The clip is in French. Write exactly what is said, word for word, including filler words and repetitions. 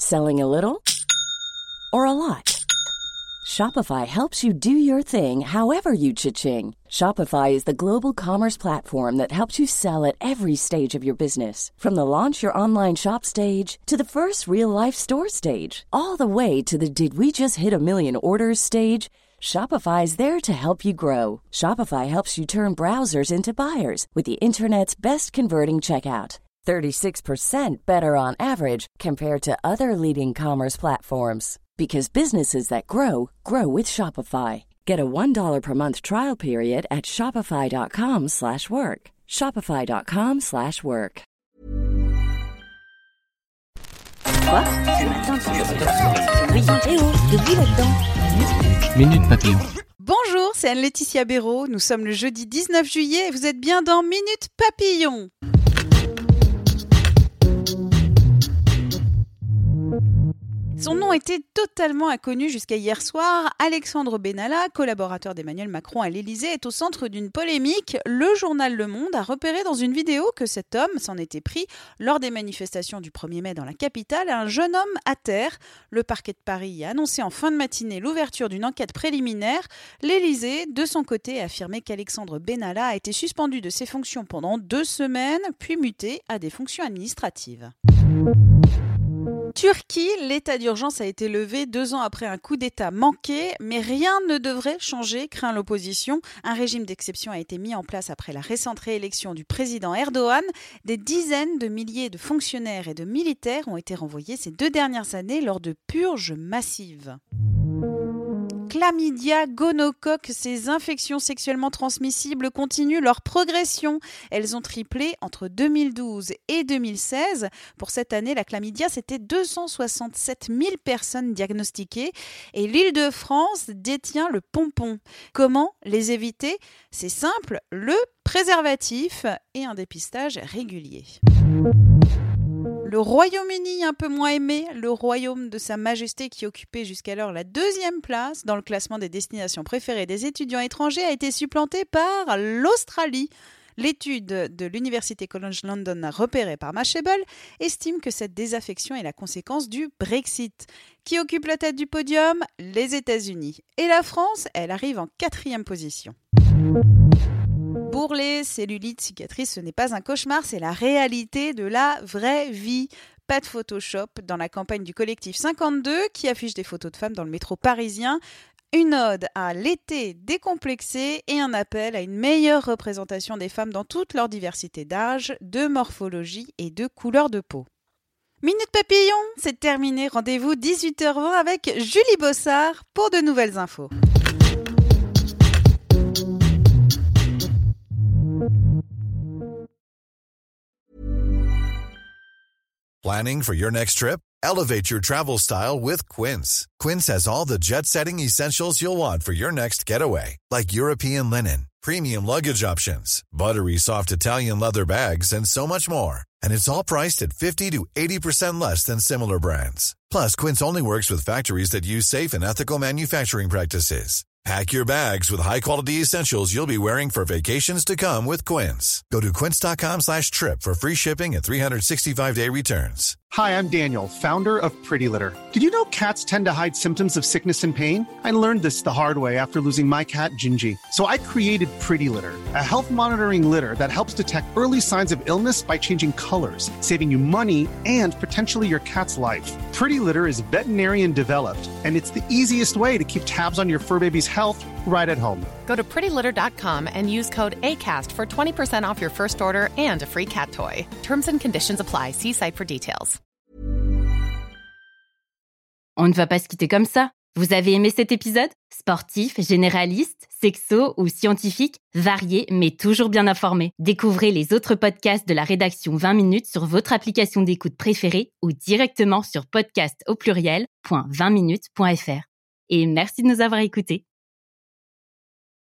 Selling a little or a lot? Shopify helps you do your thing however you cha-ching. Shopify is the global commerce platform that helps you sell at every stage of your business. From the launch your online shop stage to the first real-life store stage, all the way to the did we just hit a million orders stage. Shopify is there to help you grow. Shopify helps you turn browsers into buyers with the internet's best converting checkout. thirty-six percent better on average compared to other leading commerce platforms. Because businesses that grow, grow with Shopify. Get a one dollar per month trial period at shopify.com slash work. Shopify.com slash work. Quoi? Ce matin, tu Eh oh, de qui là-dedans? Minute Papillon. Bonjour, c'est Anne-Laetitia Béraud. Nous sommes le jeudi dix-neuf juillet et vous êtes bien dans Minute Papillon. Son nom était totalement inconnu jusqu'à hier soir. Alexandre Benalla, collaborateur d'Emmanuel Macron à l'Élysée, est au centre d'une polémique. Le journal Le Monde a repéré dans une vidéo que cet homme s'en était pris lors des manifestations du premier mai dans la capitale à un jeune homme à terre. Le parquet de Paris a annoncé en fin de matinée l'ouverture d'une enquête préliminaire. L'Élysée, de son côté, a affirmé qu'Alexandre Benalla a été suspendu de ses fonctions pendant deux semaines, puis muté à des fonctions administratives. Turquie, l'état d'urgence a été levé deux ans après un coup d'État manqué, mais rien ne devrait changer, craint l'opposition. Un régime d'exception a été mis en place après la récente réélection du président Erdogan. Des dizaines de milliers de fonctionnaires et de militaires ont été renvoyés ces deux dernières années lors de purges massives. Chlamydia, gonocoque, ces infections sexuellement transmissibles continuent leur progression. Elles ont triplé entre deux mille douze et deux mille seize. Pour cette année, la chlamydia, c'était deux cent soixante-sept mille personnes diagnostiquées et l'Île-de-France détient le pompon. Comment les éviter? C'est simple, le préservatif et un dépistage régulier. Le Royaume-Uni, un peu moins aimé, le royaume de Sa Majesté qui occupait jusqu'alors la deuxième place dans le classement des destinations préférées des étudiants étrangers, a été supplanté par l'Australie. L'étude de l'Université College London repérée par Mashable estime que cette désaffection est la conséquence du Brexit. Qui occupe la tête du podium? Les États-Unis. Et la France, elle arrive en quatrième position. Bourrelets, cellulite, cicatrices, ce n'est pas un cauchemar, c'est la réalité de la vraie vie. Pas de Photoshop dans la campagne du collectif cinquante-deux qui affiche des photos de femmes dans le métro parisien. Une ode à l'été décomplexé et un appel à une meilleure représentation des femmes dans toute leur diversité d'âge, de morphologie et de couleur de peau. Minute Papillon, c'est terminé. Rendez-vous dix-huit heures vingt avec Julie Bossard pour de nouvelles infos. Planning for your next trip? Elevate your travel style with Quince. Quince has all the jet-setting essentials you'll want for your next getaway, like European linen, premium luggage options, buttery soft Italian leather bags, and so much more. And it's all priced at fifty to eighty percent less than similar brands. Plus, Quince only works with factories that use safe and ethical manufacturing practices. Pack your bags with high-quality essentials you'll be wearing for vacations to come with Quince. Go to quince.com slash trip for free shipping and three sixty-five day returns. Hi, I'm Daniel, founder of Pretty Litter. Did you know cats tend to hide symptoms of sickness and pain? I learned this the hard way after losing my cat, Gingy. So I created Pretty Litter, a health monitoring litter that helps detect early signs of illness by changing colors, saving you money and potentially your cat's life. Pretty Litter is veterinarian developed, and it's the easiest way to keep tabs on your fur baby's health right at home. Go to pretty litter dot com and use code ACAST for twenty percent off your first order and a free cat toy. Terms and conditions apply. See site for details. On ne va pas se quitter comme ça. Vous avez aimé cet épisode? Sportif, généraliste, sexo ou scientifique, varié mais toujours bien informé. Découvrez les autres podcasts de la rédaction vingt minutes sur votre application d'écoute préférée ou directement sur podcast au pluriel point vingt minutes point f r. Et merci de nous avoir écoutés.